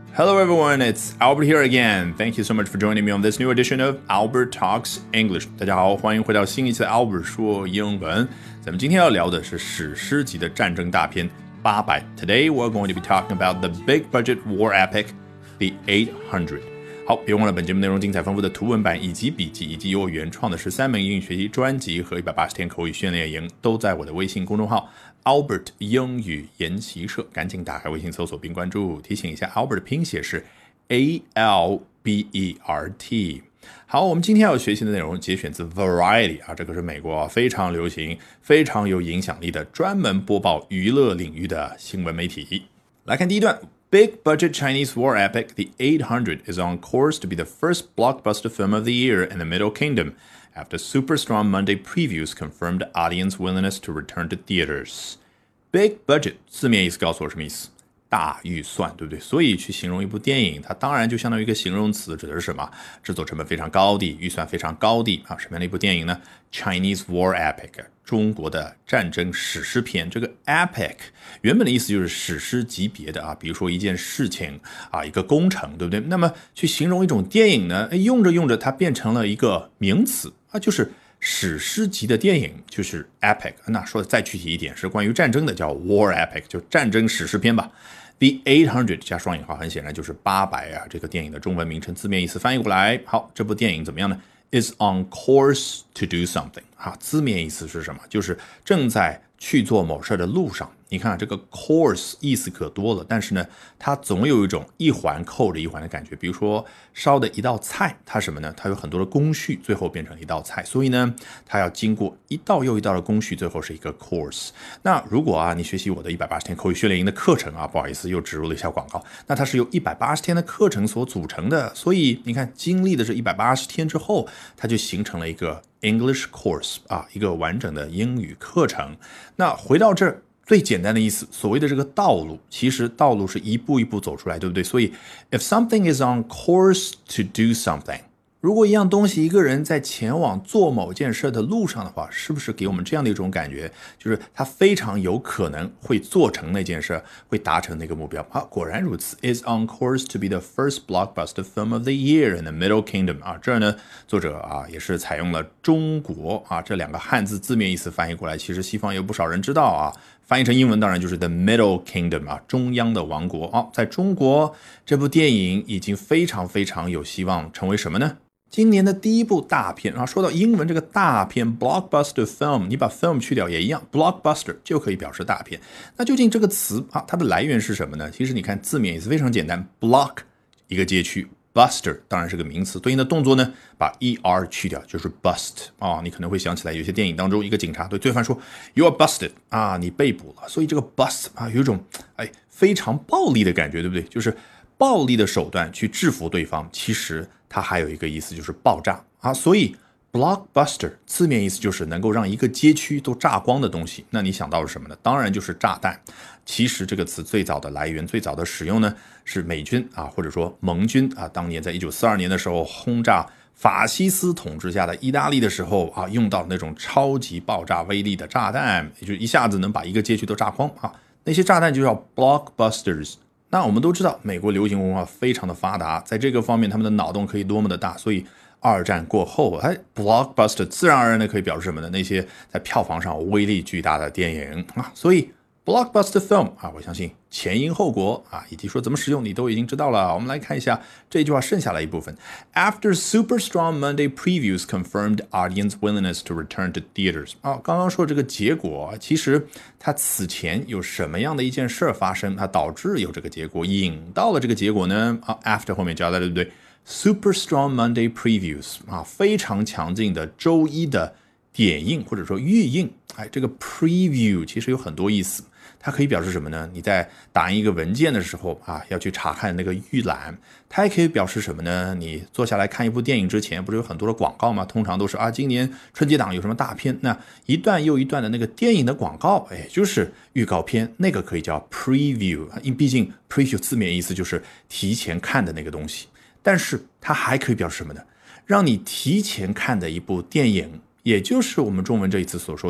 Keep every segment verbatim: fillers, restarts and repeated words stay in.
Hello everyone, it's Albert here again. Thank you so much for joining me on this new edition of Albert Talks English. 大家好，欢迎回到新一期的 Albert 说英文。咱们今天要聊的是史诗级的战争大片八百。Today we're going to be talking about the big budget war epic, The eight hundred. 好，别忘了本节目内容精彩丰富的图文版以及笔记，以及由我原创的十三门英语学习专辑和一百八十天口语训练营，都在我的微信公众号 Albert 英语研习社，赶紧打开微信搜索并关注。提醒一下 Albert 的拼写是 A L B E R T。 好，我们今天要学习的内容节选自 Variety 啊，这个是美国非常流行非常有影响力的专门播报娱乐领域的新闻媒体。来看第一段。Big budget Chinese war epic, The eight hundred is on course to be the first blockbuster film of the year in the Middle Kingdom, after super strong Monday previews confirmed audience willingness to return to theaters. Big budget 字面意思告诉我什么意思？大预算，对不对？所以去形容一部电影，它当然就相当于一个形容词，指的是什么？制作成本非常高的，预算非常高的啊，什么样的一部电影呢？ Chinese war epic， 中国的战争史诗片。这个 epic 原本的意思就是史诗级别的啊，比如说一件事情啊，一个工程，对不对？那么去形容一种电影呢，用着用着它变成了一个名词啊，就是史诗级的电影，就是 epic。 那说的再具体一点，是关于战争的，叫 war epic， 就战争史诗片吧。The eight hundred 加双引号，很显然就是八百啊，这个电影的中文名称字面意思翻译过来。好，这部电影怎么样呢？ Is on course to do something 啊，字面意思是什么？就是正在去做某事的路上。你看这个 course 意思可多了，但是呢，它总有一种一环扣着一环的感觉。比如说烧的一道菜，它什么呢？它有很多的工序，最后变成一道菜，所以呢，它要经过一道又一道的工序，最后是一个 course。那如果啊，你学习我的一百八十天口语训练营的课程啊，不好意思又植入了一下广告，那它是由一百八十天的课程所组成的，所以你看，经历的这一百八十天之后，它就形成了一个 English course 啊，一个完整的英语课程。那回到这儿。最简单的意思，所谓的这个道路，其实道路是一步一步走出来，对不对？所以 if something is on course to do something， 如果一样东西，一个人在前往做某件事的路上的话，是不是给我们这样的一种感觉，就是他非常有可能会做成那件事，会达成那个目标啊？果然如此 is on course to be the first blockbuster film of the year in the Middle Kingdom 啊，这儿呢，作者啊也是采用了中国啊这两个汉字字面意思翻译过来，其实西方有不少人知道啊。翻译成英文当然就是 The Middle Kingdom 啊，中央的王国。哦，在中国这部电影已经非常非常有希望成为什么呢？今年的第一部大片啊。说到英文这个大片 blockbuster film， 你把 film 去掉也一样， blockbuster 就可以表示大片。那究竟这个词啊，它的来源是什么呢？其实你看字面意思非常简单， block 一个街区，Buster 当然是个名词，对应的动作呢，把 er 去掉就是 bust 啊、哦。你可能会想起来，有些电影当中，一个警察对罪犯说 "You are busted" 啊，你被捕了。所以这个 bust 啊，有一种哎非常暴力的感觉，对不对？就是暴力的手段去制服对方。其实它还有一个意思就是爆炸啊。所以 blockbuster 字面意思就是能够让一个街区都炸光的东西。那你想到了什么呢？当然就是炸弹。其实这个词最早的来源，最早的使用呢，是美军啊，或者说盟军啊，当年在一九四二年的时候轰炸法西斯统治下的意大利的时候啊，用到那种超级爆炸威力的炸弹，也就一下子能把一个街区都炸光啊。那些炸弹就叫 blockbusters。那我们都知道，美国流行文化非常的发达，在这个方面他们的脑洞可以多么的大，所以二战过后，哎 blockbuster 自然而然的可以表示什么呢？那些在票房上威力巨大的电影啊，所以blockbuster film 啊，我相信前因后果啊，以及说怎么使用你都已经知道了。我们来看一下这句话剩下来一部分。After super strong Monday previews confirmed audience willingness to return to theaters 啊，刚刚说这个结果，其实它此前有什么样的一件事发生，它导致有这个结果，引到了这个结果呢？啊 ，after 后面加的对不对 ？Super strong Monday previews 啊，非常强劲的周一的点映或者说预映。哎，这个 preview 其实有很多意思。它可以表示什么呢？你在打印一个文件的时候啊，要去查看那个预览。它也可以表示什么呢？你坐下来看一部电影之前，不是有很多的广告吗？通常都是啊，今年春节档有什么大片？那一段又一段的那个电影的广告，哎，就是预告片，那个可以叫 preview。因毕竟 preview 字面意思就是提前看的那个东西。但是它还可以表示什么呢？让你提前看的一部电影，也就是我们中文这一次所说的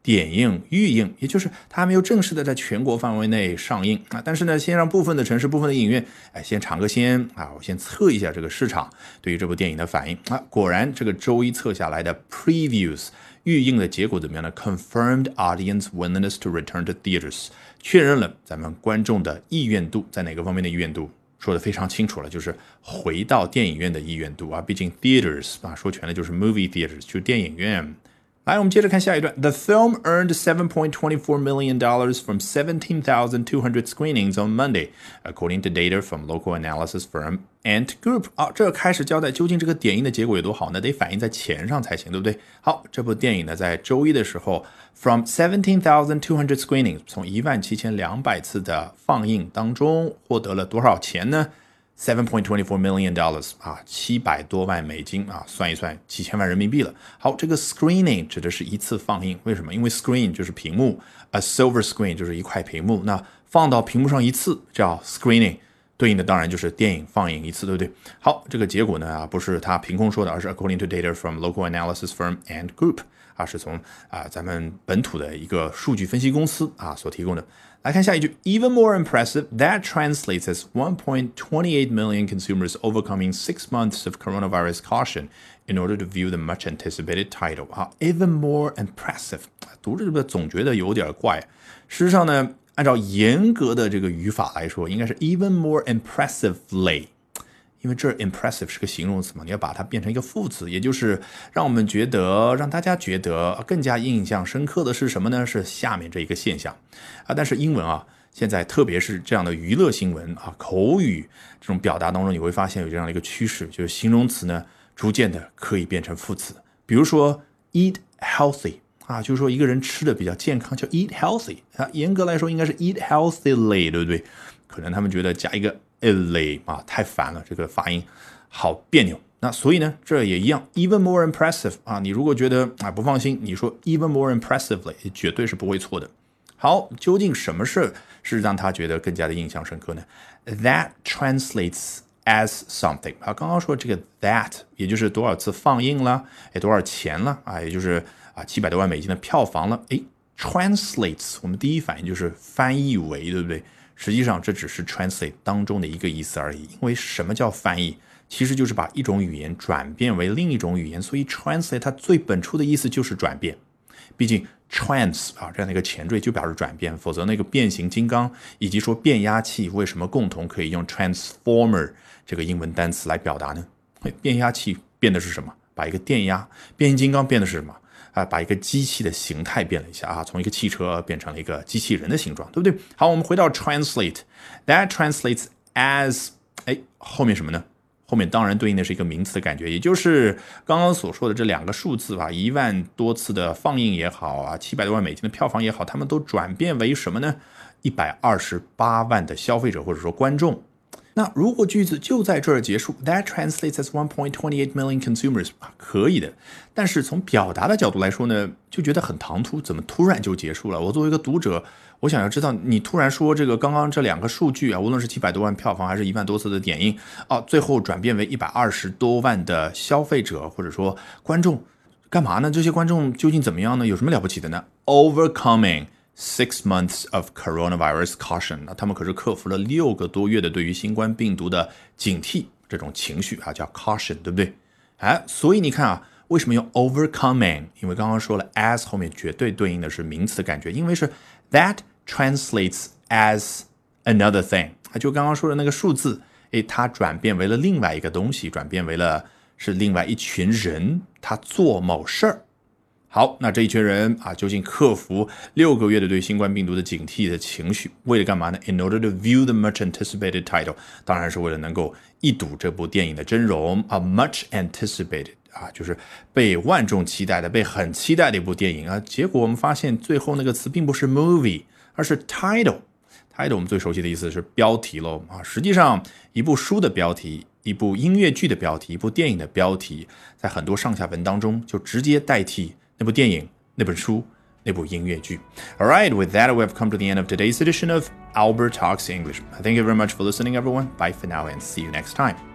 点映预映，也就是它还没有正式的在全国范围内上映啊。但是呢，先让部分的城市、部分的影院，哎，先尝个鲜啊，我先测一下这个市场对于这部电影的反应啊。果然，这个周一测下来的 previews 预映的结果怎么样呢 ？Confirmed audience willingness to return to theaters， 确认了咱们观众的意愿度，在哪个方面的意愿度？说的非常清楚了，就是回到电影院的意愿度啊。毕竟 theaters 啊，说全了就是 movie theaters， 就是电影院。来，我们接着看下一段。The film earned seven point two four million dollars from seventeen thousand two hundred screenings on Monday, according to data from local analysis firm Ant Group。啊，这开始交代究竟这个点映的结果有多好呢？得反映在钱上才行，对不对？好，这部电影呢，在周一的时候 ，from seventeen thousand two hundred screenings， 从一万七千两百次的放映当中获得了多少钱呢？seven point two four million dollars 啊，七百多万美金啊，算一算几千万人民币了。好，这个 screening 指的是一次放映，为什么？因为 screen 就是屏幕 ，a silver screen 就是一块屏幕，那放到屏幕上一次叫 screening， 对应的当然就是电影放映一次，对不对？好，这个结果呢啊，不是他凭空说的，而是 according to data from local analysis firm Ant Group 啊，是从啊咱们本土的一个数据分析公司啊所提供的。来看下一句 ，Even more impressive, that translates as one point two eight million consumers overcoming six months of coronavirus caution in order to view the much anticipated title. 啊 ，Even more impressive， 读着总觉得有点怪。事实上呢，按照严格的这个语法来说，应该是 even more impressively。因为这 impressive 是个形容词嘛，你要把它变成一个副词，也就是让我们觉得，让大家觉得更加印象深刻的是什么呢？是下面这一个现象啊。但是英文啊，现在特别是这样的娱乐新闻啊，口语这种表达当中，你会发现有这样的一个趋势，就是形容词呢，逐渐的可以变成副词。比如说 eat healthy 啊，就是说一个人吃的比较健康，叫 eat healthy 啊。严格来说应该是 eat healthily， 对不对？可能他们觉得加一个Ly 啊，太烦了，这个发音好别扭。那所以呢，这也一样 ，even more impressive 啊，你如果觉得啊不放心，你说 even more impressively 绝对是不会错的。好，究竟什么事是让他觉得更加的印象深刻呢 ？That translates as something 啊，刚刚说这个 that 也就是多少次放映了，哎，多少钱了啊，也就是啊七百多万美金的票房了，哎 ，translates 我们第一反应就是翻译为，对不对？实际上这只是 translate 当中的一个意思而已，因为什么叫翻译？其实就是把一种语言转变为另一种语言，所以 translate 它最本初的意思就是转变。毕竟 trans 啊这样的一个前缀就表示转变，否则那个变形金刚以及说变压器为什么共同可以用 transformer 这个英文单词来表达呢？变压器变的是什么？把一个电压，变形金刚变的是什么？啊，把一个机器的形态变了一下啊，从一个汽车变成了一个机器人的形状，对不对？好，我们回到 translate，that translates as， 哎，后面什么呢？后面当然对应的是一个名词的感觉，也就是刚刚所说的这两个数字吧，一万多次的放映也好啊，七百多万美金的票房也好，他们都转变为什么呢？一百二十八万的消费者或者说观众。那如果句子就在这儿结束 ，That translates as one point two eight million consumers 啊，可以的。但是从表达的角度来说呢，就觉得很唐突，怎么突然就结束了？我作为一个读者，我想要知道你突然说这个刚刚这两个数据啊，无论是七百多万票房还是一万多次的点映啊，最后转变为一百二十多万的消费者或者说观众，干嘛呢？这些观众究竟怎么样呢？有什么了不起的呢 ？Overcoming Six months of coronavirus caution， 那他们可是克服了六个多月的对于新冠病毒的警惕这种情绪啊，叫 caution， 对不对？哎，所以你看啊，为什么用 overcoming？ 因为刚刚说了 as 后面绝对对应的是名词的感觉，因为是 that translates as another thing， 就刚刚说的那个数字，哎，它转变为了另外一个东西，转变为了是另外一群人，他做某事儿。好，那这一群人啊，究竟克服六个月的对新冠病毒的警惕的情绪，为了干嘛呢 ？In order to view the much anticipated title， 当然是为了能够一睹这部电影的真容啊 ，much anticipated 啊，就是被万众期待的、被很期待的一部电影啊。结果我们发现，最后那个词并不是 movie， 而是 title。title 我们最熟悉的意思是标题喽啊。实际上，一部书的标题、一部音乐剧的标题、一部电影的标题，在很多上下文当中就直接代替那部电影、那本书、那部音乐剧。All right, with that, we have come to the end of today's edition of Albert Talks English. Thank you very much for listening, everyone. Bye for now and see you next time.